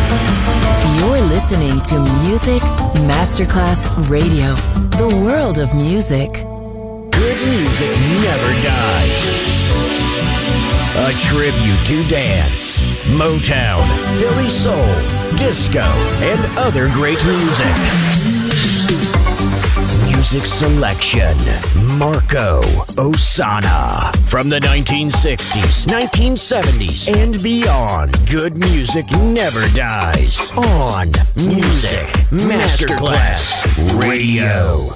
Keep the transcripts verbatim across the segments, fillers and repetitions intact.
You're listening to Music Masterclass Radio, the world of music. Good music never dies. A tribute to dance, Motown, Philly soul, disco, and other great music. Music selection, Marco Ossanna. From the nineteen sixties, nineteen seventies, and beyond, good music never dies. On Music Masterclass Radio.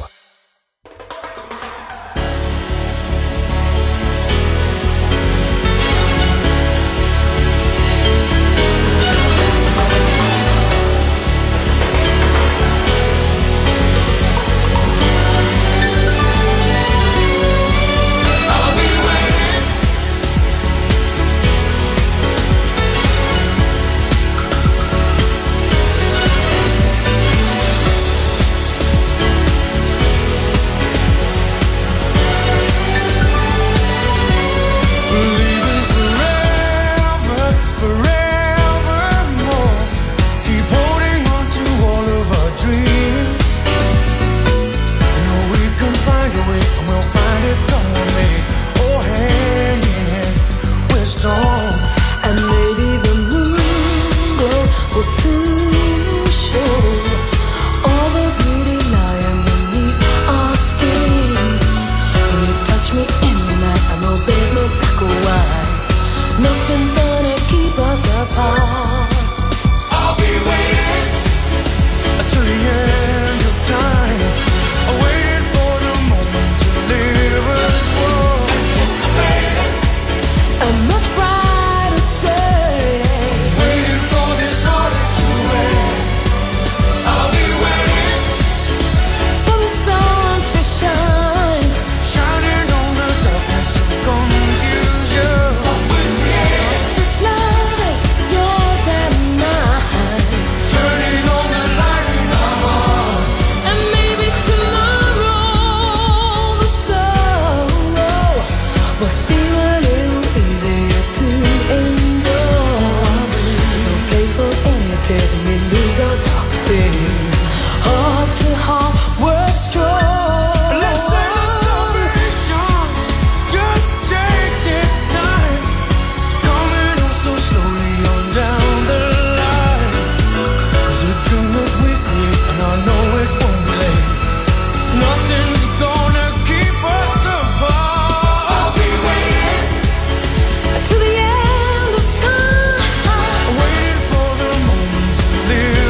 Till the end of time, waiting for the moment to live.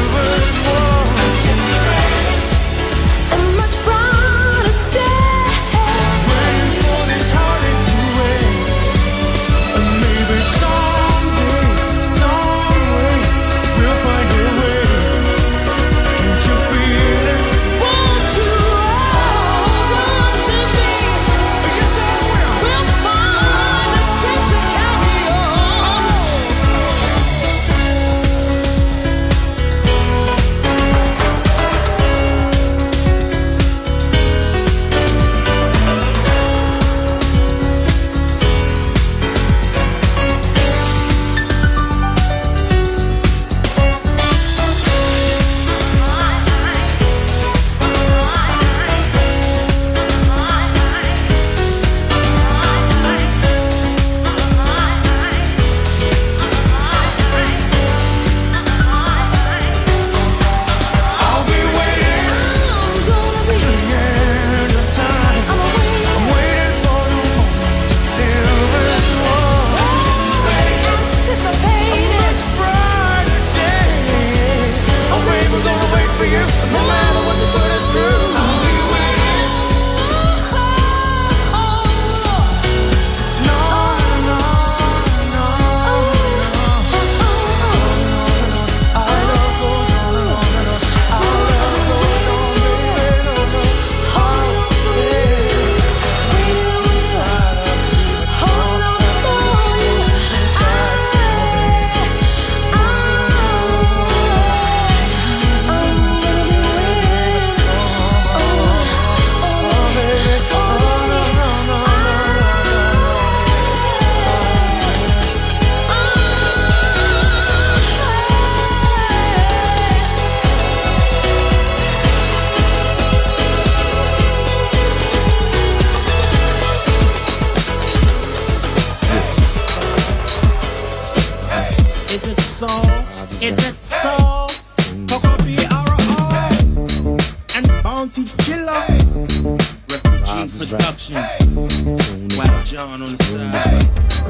Is it so? Coco B R O and Bounty Killer. Refugee Productions. Wow, John on the side.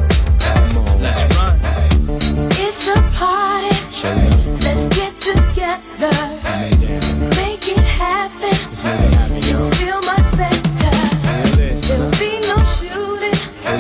Let's run. It's a party. Let's get together. Make it happen. You'll feel much better. There'll be no shooting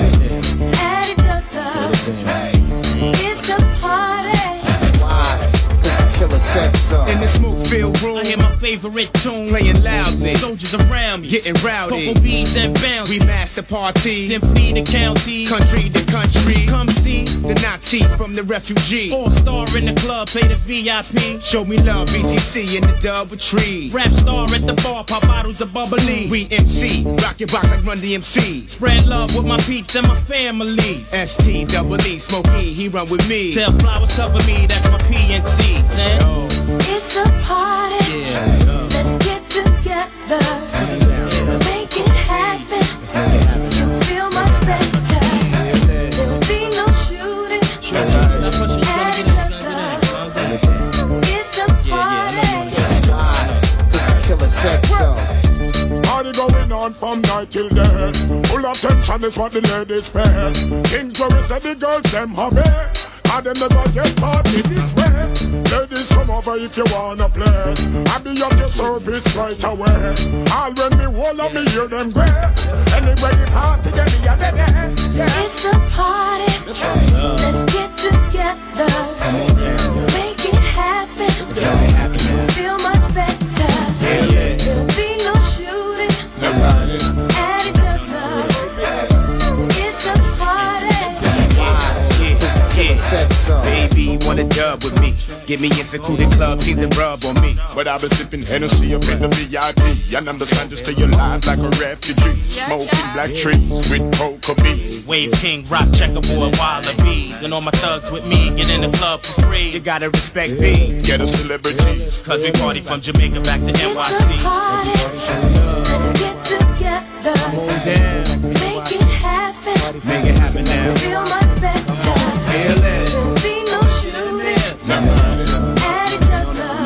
at each other. It's a party. Why? Cause the killer said so. In the smoke-filled room, I hear my favorite tune playing loudly. Soldiers around me, getting rowdy. Cocoa bees and bounce. We master party, then flee the county, country to country. Come see the Nazi from the refugee. Four star in the club, play the V I P. Show me love, B C C in the double tree. Rap star at the bar, pop bottles of bubbly. We M C, rock your box like Run D M C. Spread love with my peeps and my family. S T double E, Smokey, he run with me. Tell flowers cover me, that's my P N C. Say, oh. It's a party. Yeah. Let's get together. Make it happen. Let's make it happen. You feel much better. There'll be no shooting. Sure, stop pushing, you gotta get up, you gotta get up. It's a party. Why? Cause the killer said so. Party going on from night till day. Full attention is what the ladies pay. Kings where we say the girls them hobby. And them never get party this way. Ladies come over if you wanna play. I be at your service right away. All when me hold up me hear them great. Anyway the party get me a day. Yeah. It's a party. That's right. Let's get together. Come on, yeah. Make it happen. Let's make it happen, man. Feel much better. Yeah, yeah. There'll be no shooting Never mind. at each other. It's a party. Yeah, Said so. baby, wanna dub with me. Get me in secluded club, teens and rub on me. But I've been sipping Hennessy up in the V I P. And understand to stay alive like a refugee. Smoking black trees with cocoa beans. Wave King, rock checkerboard, wallabies. And all my thugs with me, get in the club for free. You gotta respect me. Get a celebrities. Cause we party from Jamaica back to N Y It's a C. party. Let's get together. Come on down. Make it happen. Make it happen now. Feel much better. Feel it. There'll be no shooting at each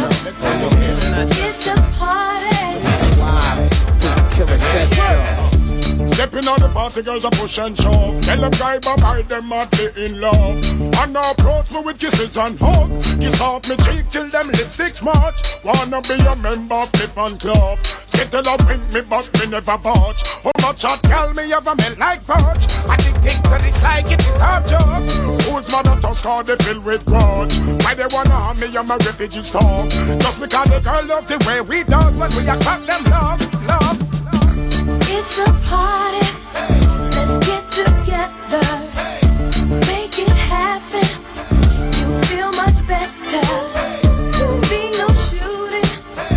other. It's a party. Why? Cause the killer said so. Stepping on the party, girls are push and shove. Tell them guy bye them madly in love. And now approach me with kisses and hug. Kiss off me cheek till them lipsticks march. Wanna be a member of the fan club. Skittle up with me but me never budge. How much hot girl me ever melt like fudge. Addicted to this like it is half jokes. Who's mother toss car they filled with grudge. Why they wanna harm me and my refugees talk. Just because the girl loves the way we does. When we attract them love, love. It's a party. Let's get together. Make it happen. You feel much better. There'll be no shooting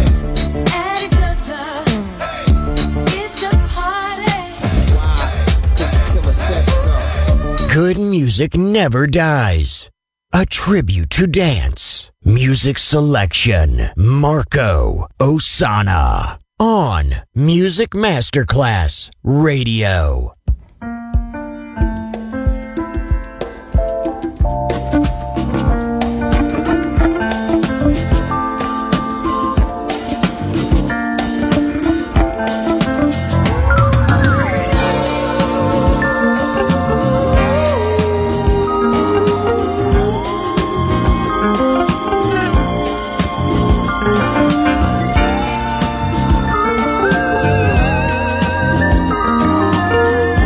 at each other. It's a party. Why? Cause the killer said so. Good music never dies. A tribute to dance. Music selection. Marco Ossanna. On Music Masterclass Radio. It's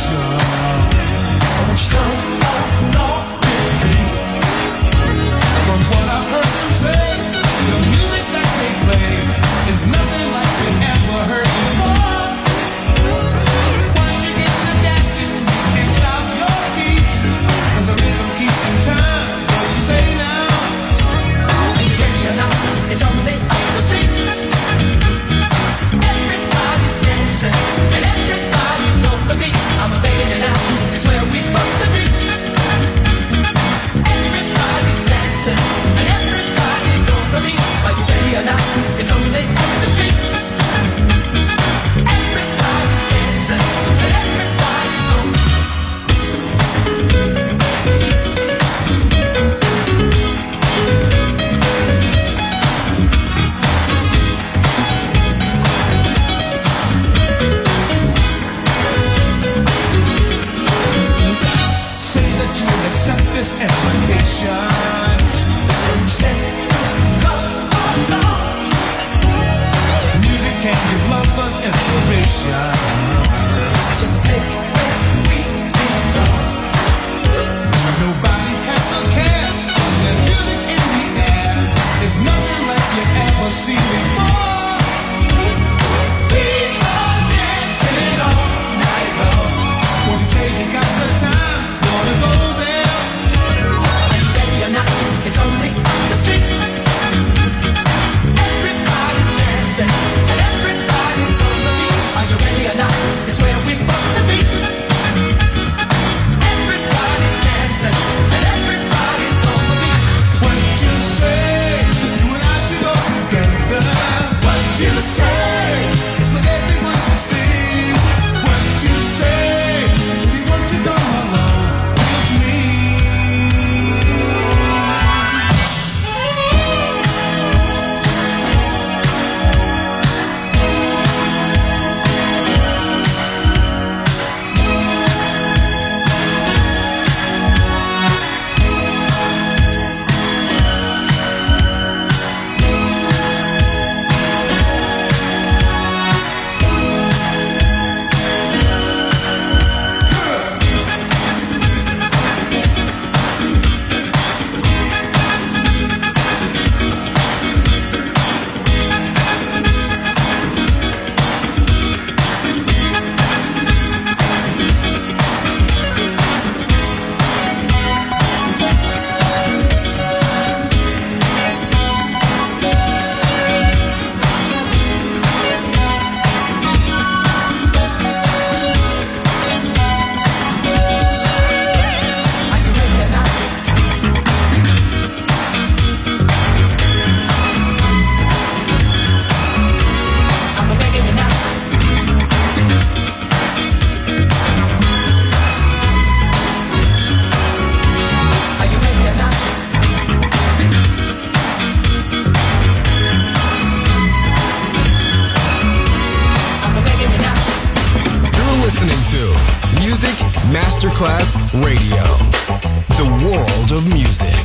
Masterclass Radio, the world of music.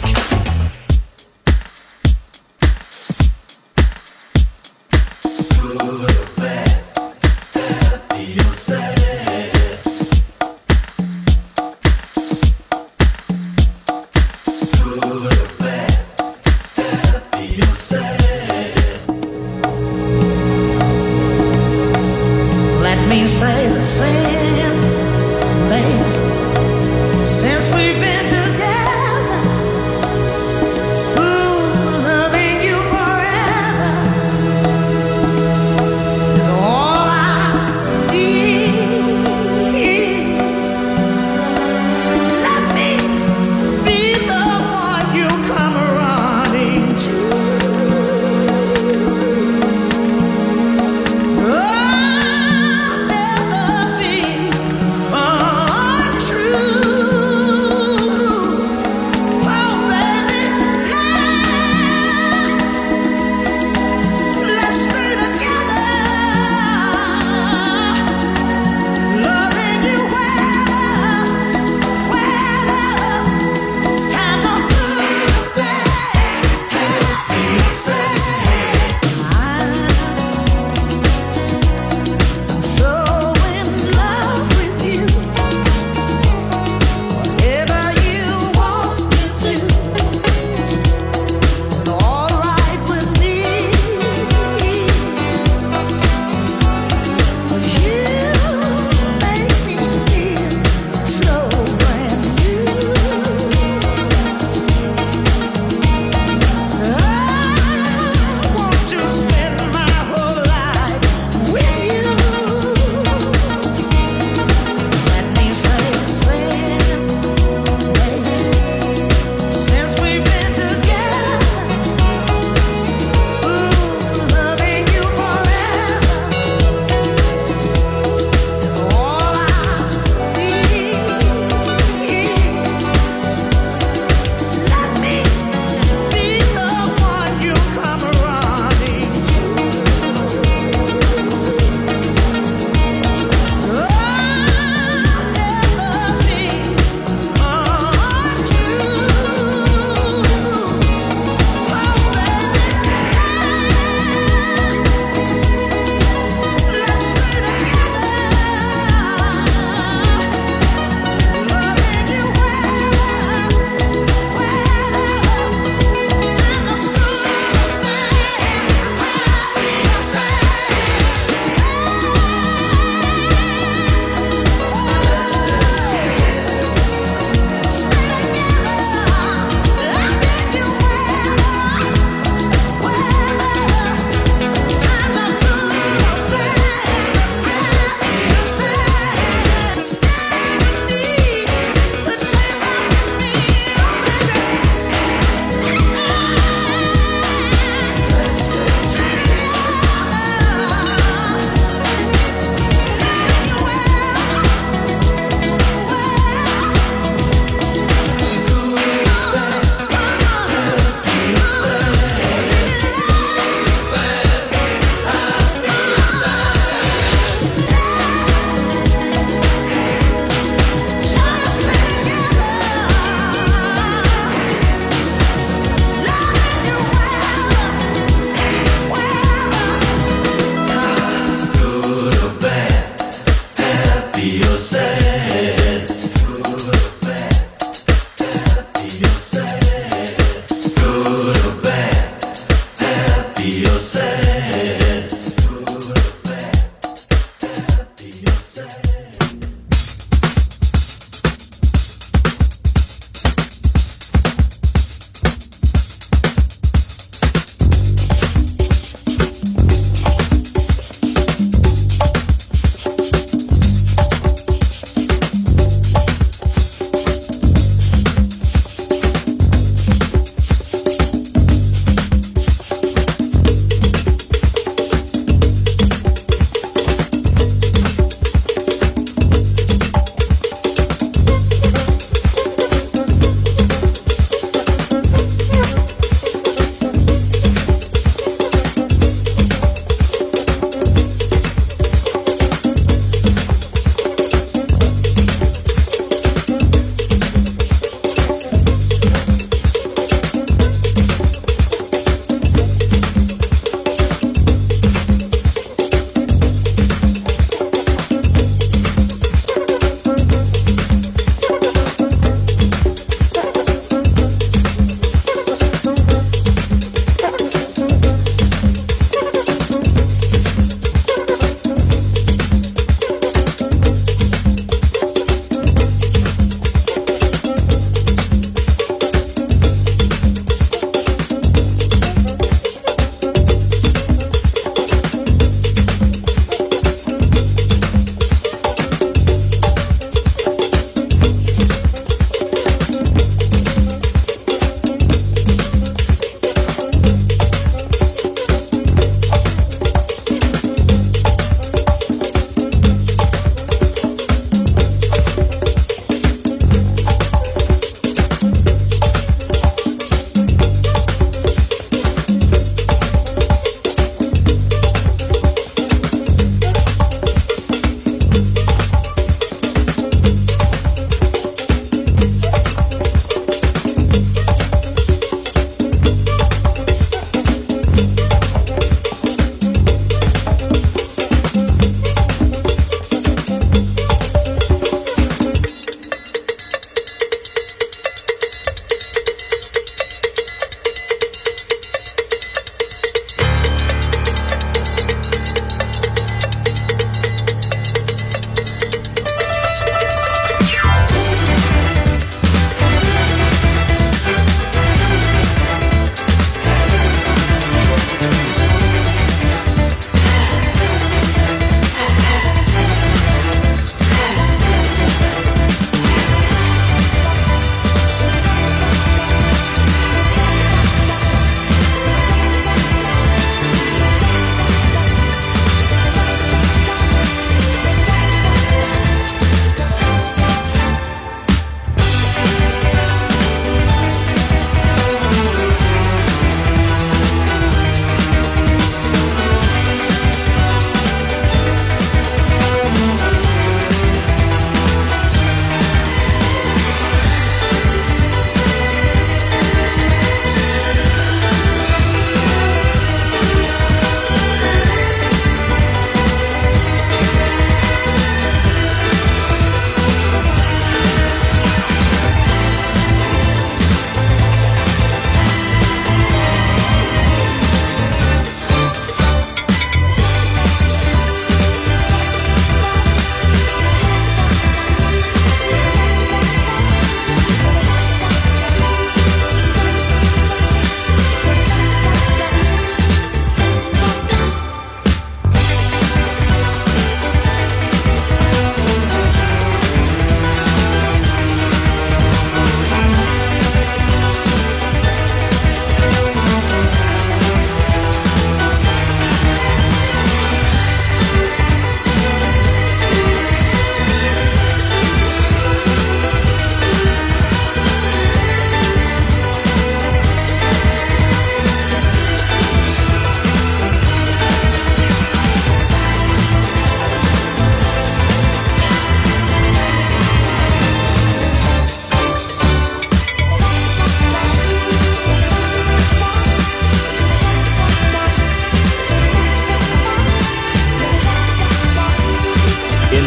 Since we've been together,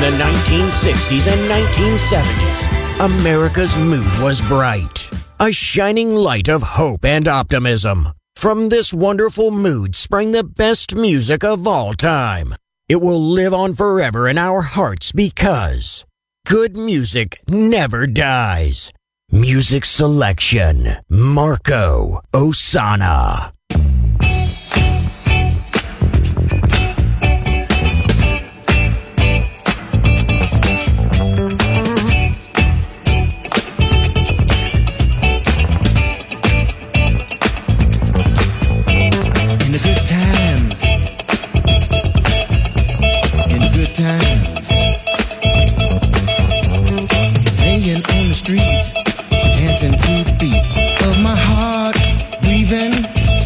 the nineteen sixties and nineteen seventies, America's mood was bright, a shining light of hope and optimism. From this wonderful mood sprang the best music of all time. It will live on forever in our hearts because good music never dies. Music selection, Marco Ossanna. Times, laying on the street, dancing to the beat of my heart, breathing.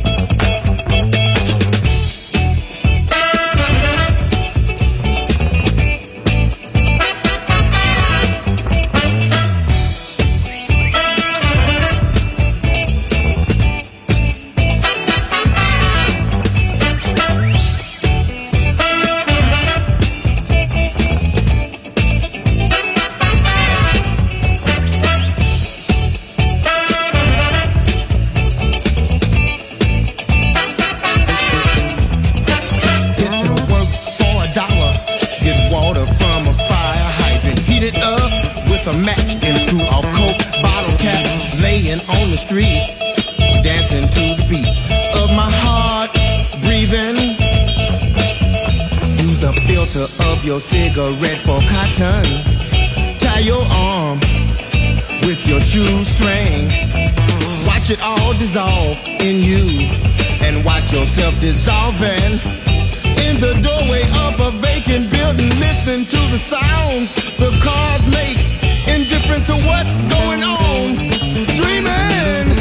Your cigarette for cotton. Tie your arm with your shoestring. Watch it all dissolve in you and watch yourself dissolving in the doorway of a vacant building. Listening to the sounds the cars make, indifferent to what's going on. Dreaming.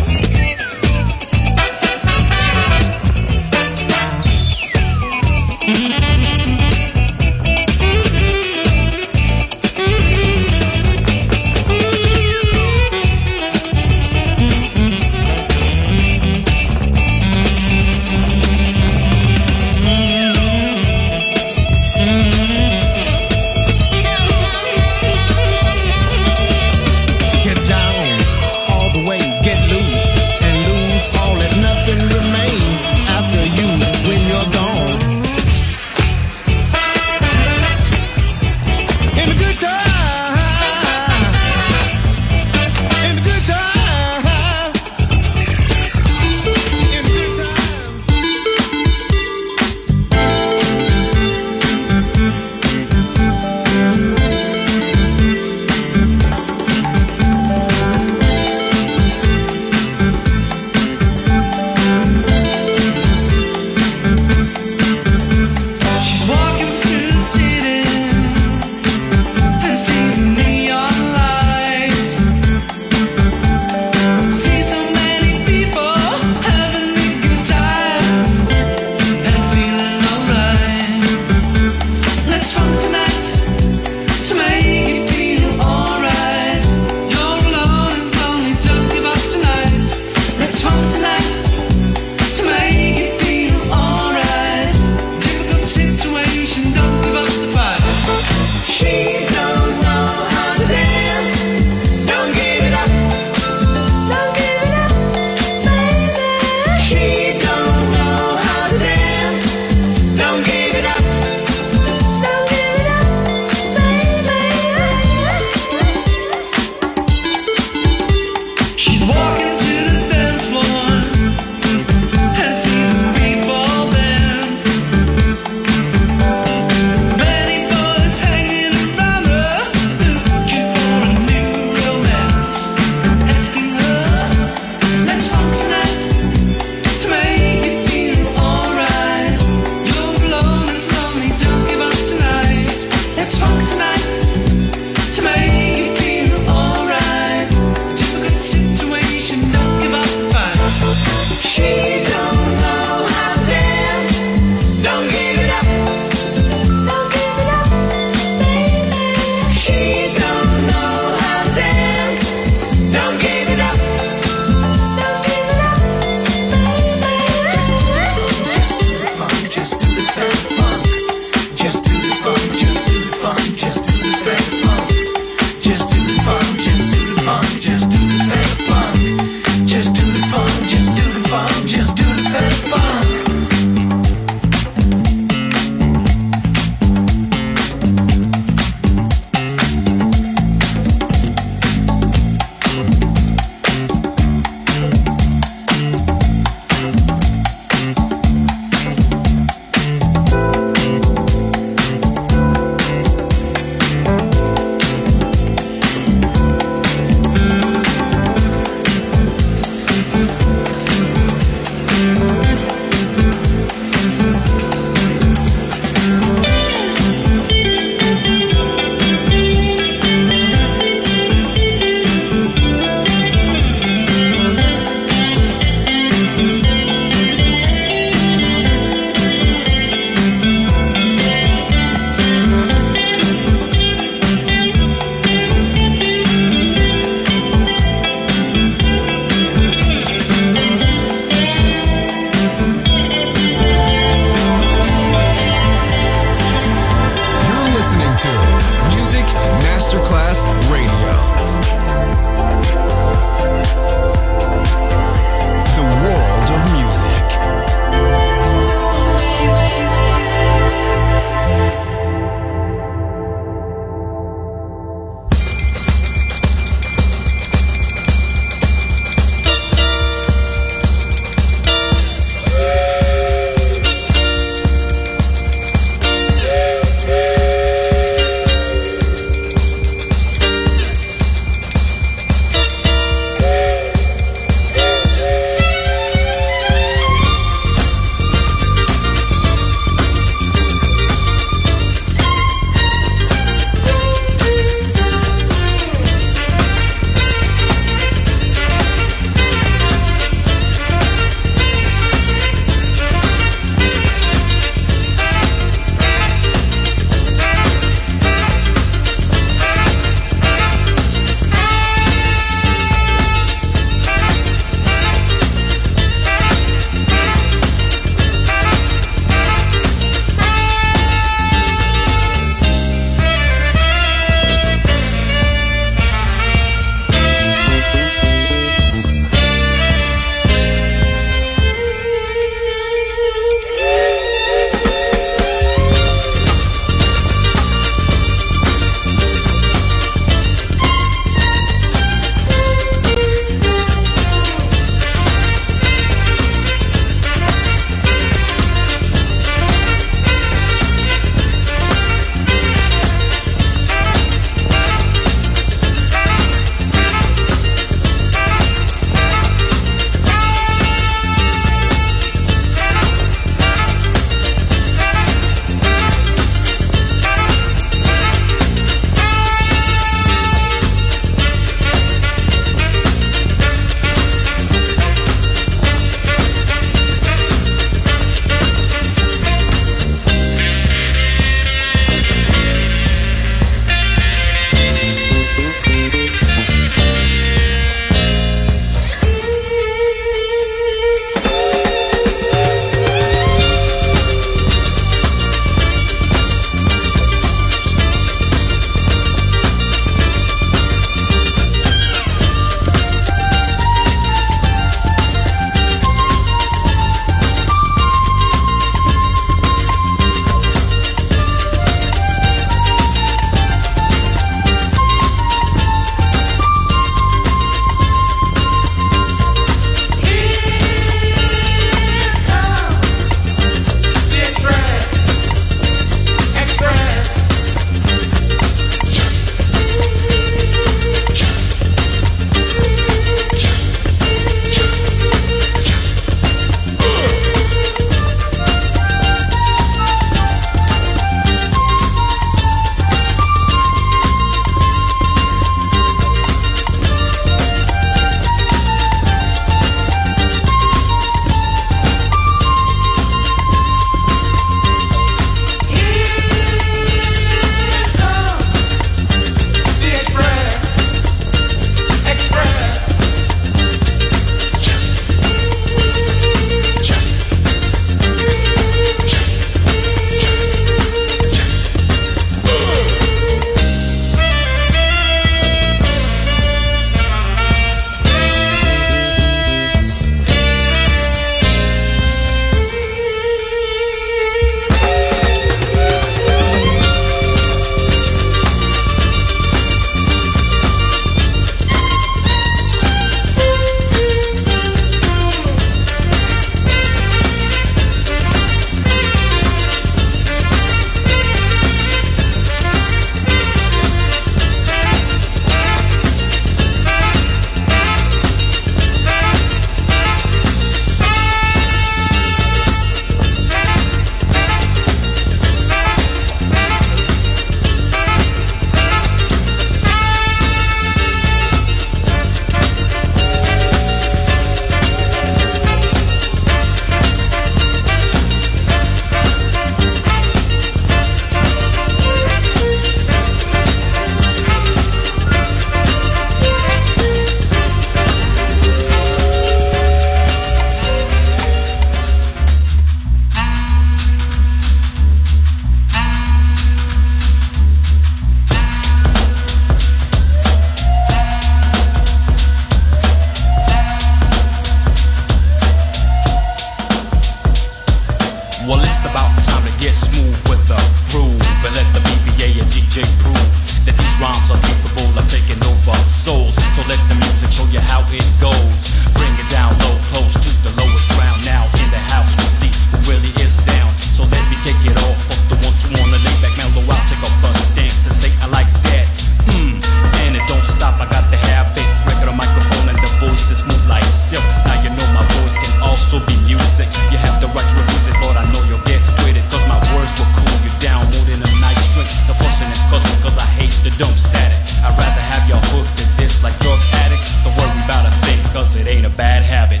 capable of taking over souls. So let the music show you how it goes. Bring it down low, close to the lowest ground. Now in the house we see who really is down. So let me take it off. Fuck the ones who wanna lay back, mellow out, take a bus stance and say I like that. Mmm, and it don't stop. I got the habit. Record a microphone and the voice is smooth like silk. Now you know my voice can also be music. You have the right to refuse it, but I know you'll get with it. Cause my words will cool you down more than a nice drink. The fussing and cussing cause I hate the dumb static. I'd rather have y'all hooked at this like drug addicts. Don't worry about a thing cause it ain't a bad habit.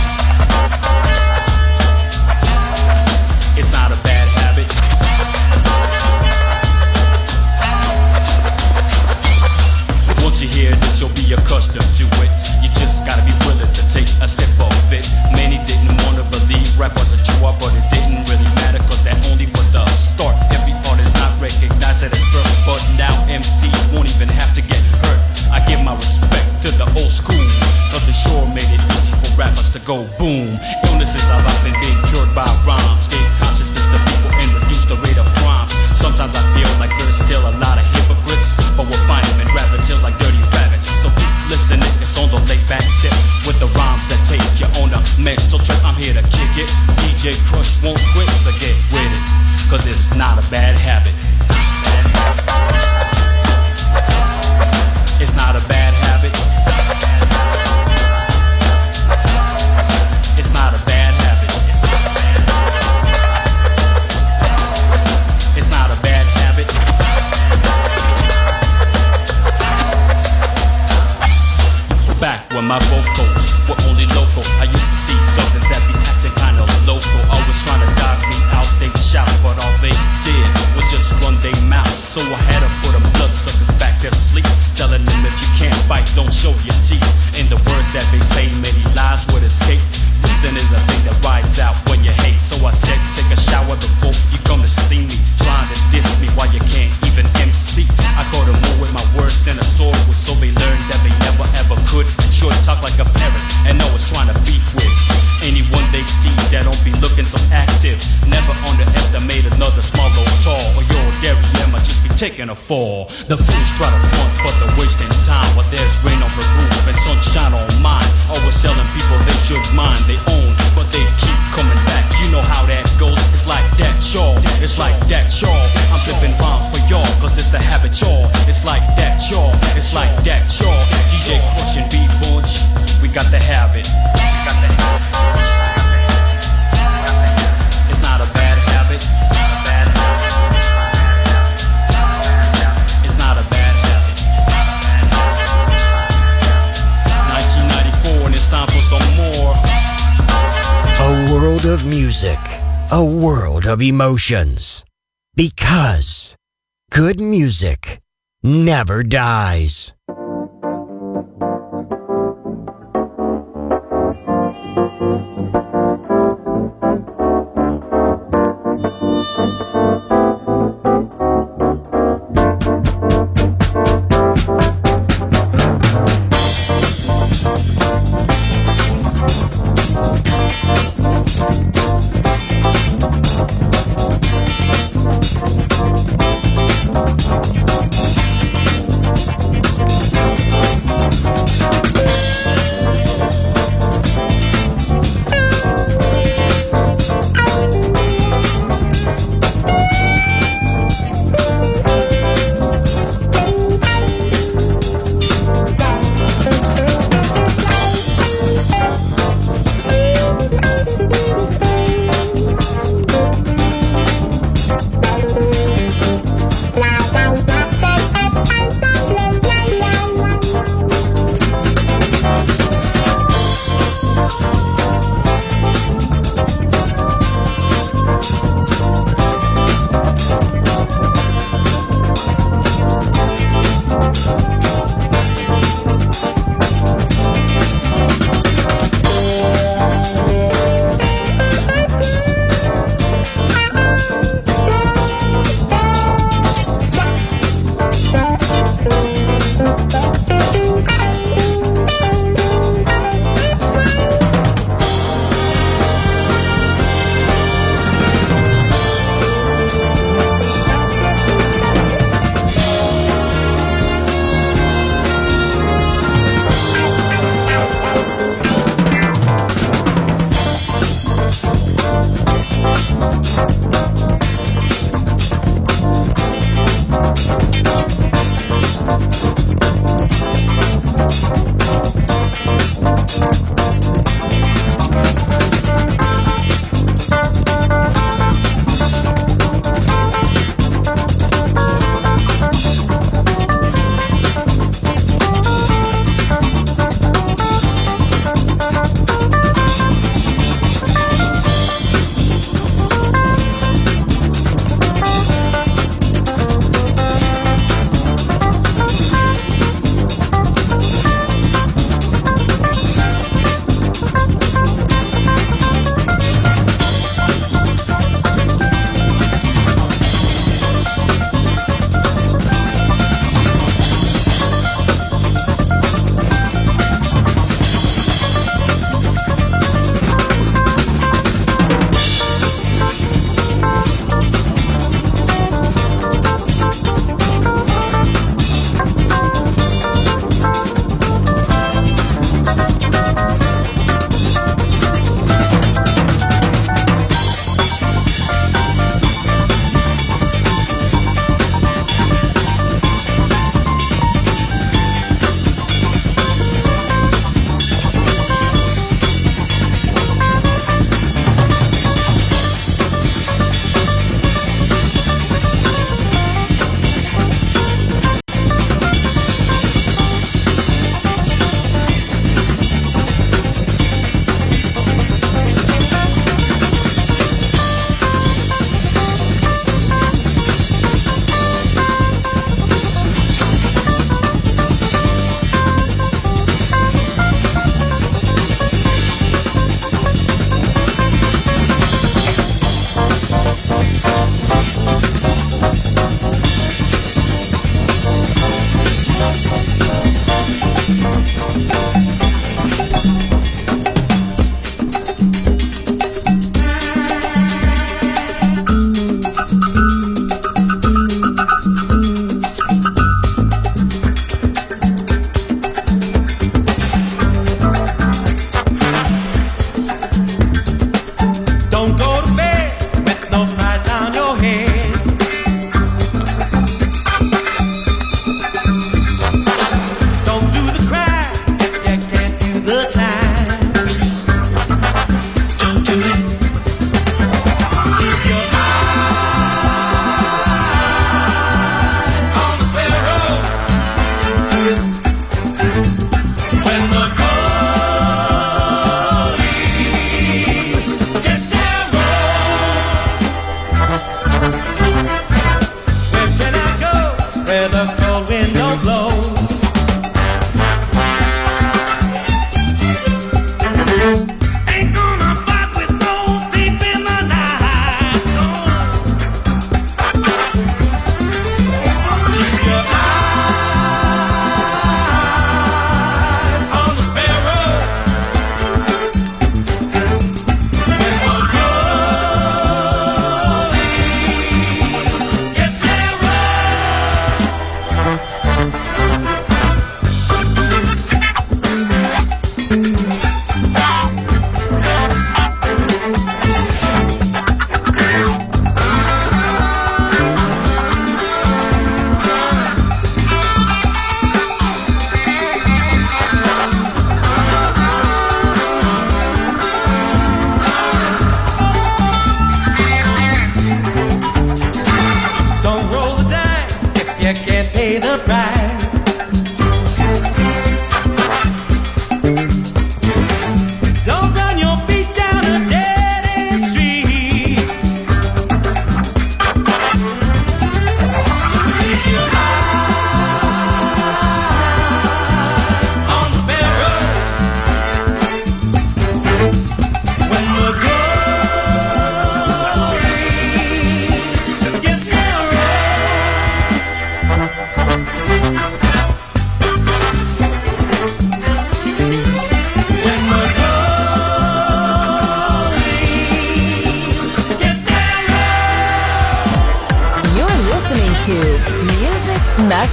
It's not a bad habit. Once you hear this, you'll be accustomed to it. You just gotta be willing to take a sip of it. Many didn't wanna believe rap was a chore, but it didn't really matter, cause that only was the start. Every artist not recognized it as birth, but now M Cs won't even have to get hurt. I give my respect to the old school, cause they sure made it easy for rappers to go boom. Illnesses have often been cured by rhymes, gave consciousness to people and reduced the rate of crime. Sometimes I feel like there's still a lot of hypocrites, but we'll find them in rabbit tails like dirty rabbits. So keep listening, it's on the laid back tip, with the rhymes that take you on a mental trip. I'm here to kick it, D J Crush won't quit, so get with it, cause it's not a bad habit. It's not a bad habit. It's not a bad habit. It's not a bad habit. Back when my vocals were only local, I used to see suckers that be acting kinda local, always trying to dog me out. They shout, but all they did was just run their mouth. So I had to put them bloodsuckers back to sleep, telling them if you can't bite, don't show your teeth. In the words that they say, many lies would escape. Reason is a thing that rides out when you hate. So I said, take a shower before you come to see me. Trying to diss me while you can't even M C. I caught them more with my words than a sword was, so they learned that they never ever could. And sure talk like a parrot and always trying to beef with anyone they see that don't be looking so active. Never underestimate another small or tall, or your dairy might just be taking a fall. The fools try to front, but they're wasting time. While there's rain on the roof and sunshine on mine. Always telling people they should mind they own, but they keep coming back. You know how that goes. It's like that, y'all. It's like that, y'all. I'm flipping rhymes for y'all, cause it's a habit, y'all. It's like that, y'all. It's like that, y'all. D J Crush and B-Bunch, we got the habit. We got the habit. It's not a bad habit. It's not a bad habit. nineteen ninety-four and it's time for some more. A world of music, a world of emotions. Because good music never dies.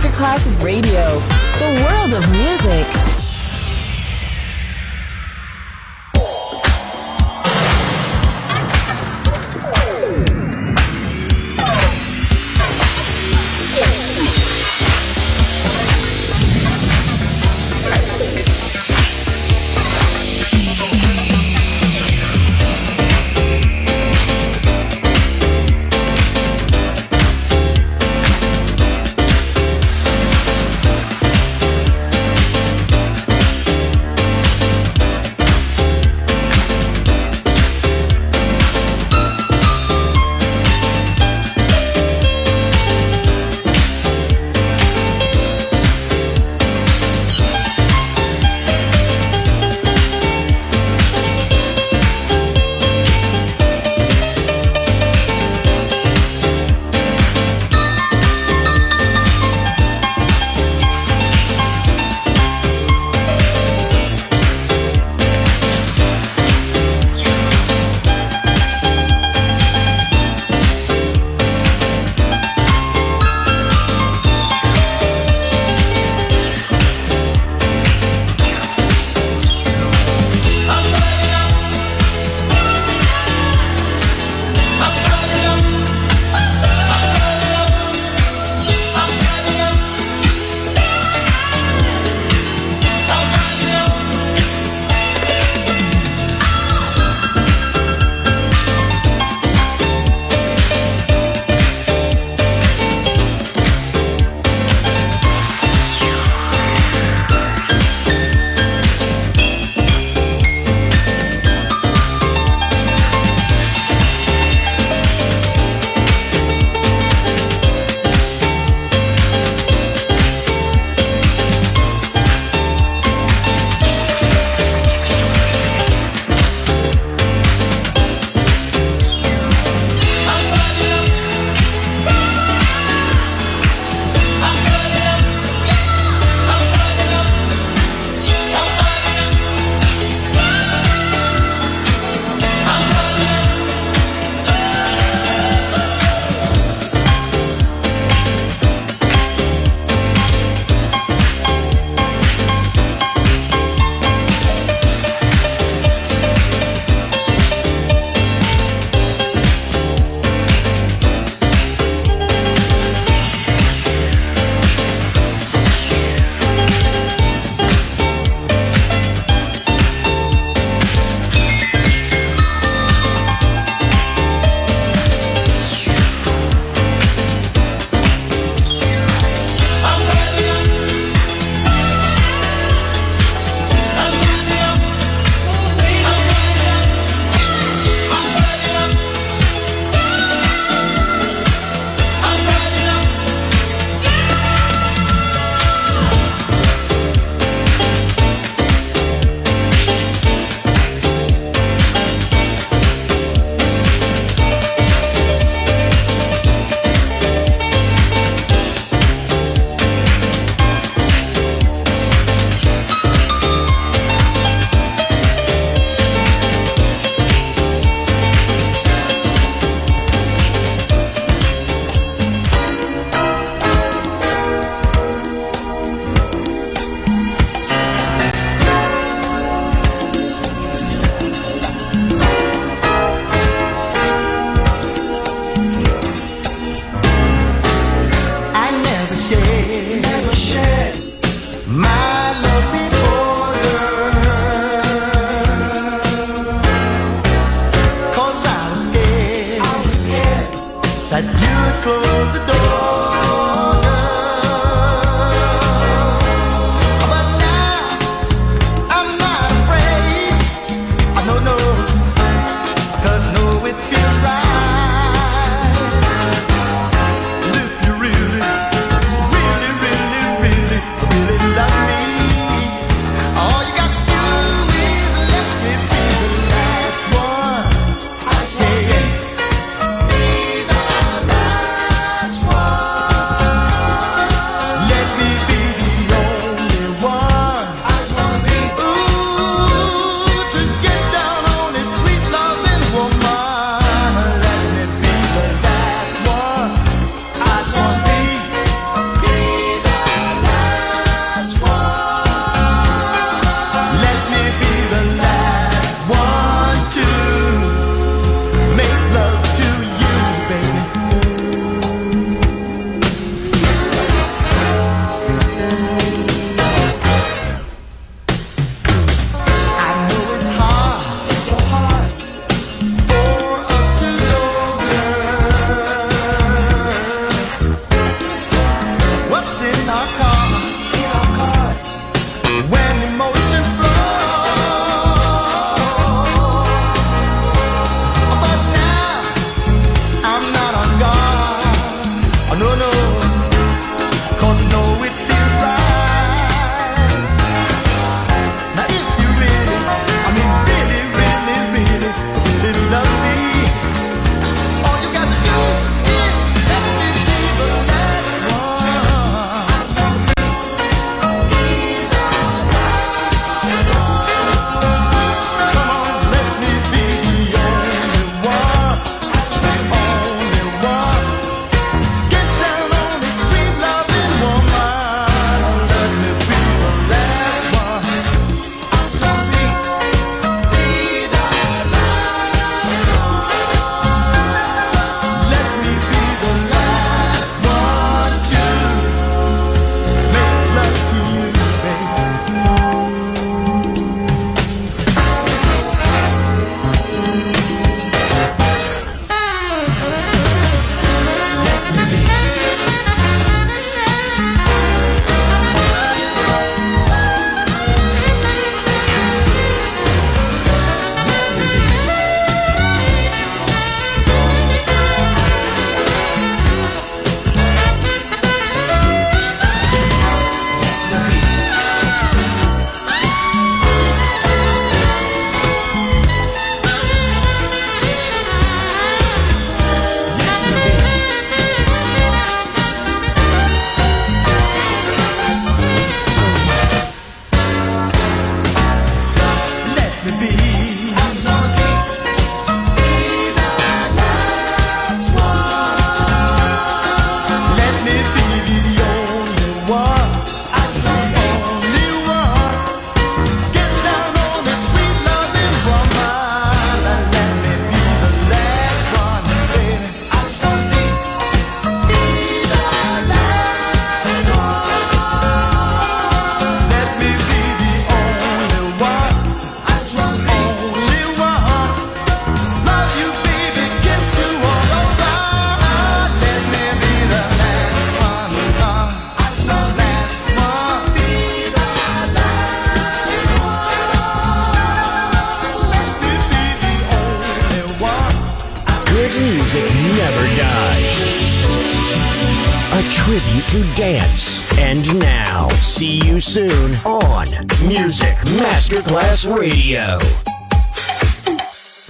Masterclass Radio, the world of music. when emotions flow. But now I'm not on guard. Oh, no, no, 'cause I know it feels right. Now if you really, I mean really, really, really, really love me, all you got to do is let me be the last one. Come on, let me be the only one, the only one. Get down on it, sweet loving woman. Let me be the last one. Let me be the last one. Let me be the last one to make love to you, baby. Let me be. Let me be. I'm gonna be the last one. Let me be the only one. I'm the only one. Get down on that sweet loving woman. Let me be the last one, baby. I'm gonna be the last one. Let me be the only one. I'm the only one. Love you, baby, kiss you all over. Let me be the last one. Uh, I'm the last one. Be the last one. Let me be the only one. Good music never dies. A tribute to dance. And now, see you soon on Music Masterclass Radio.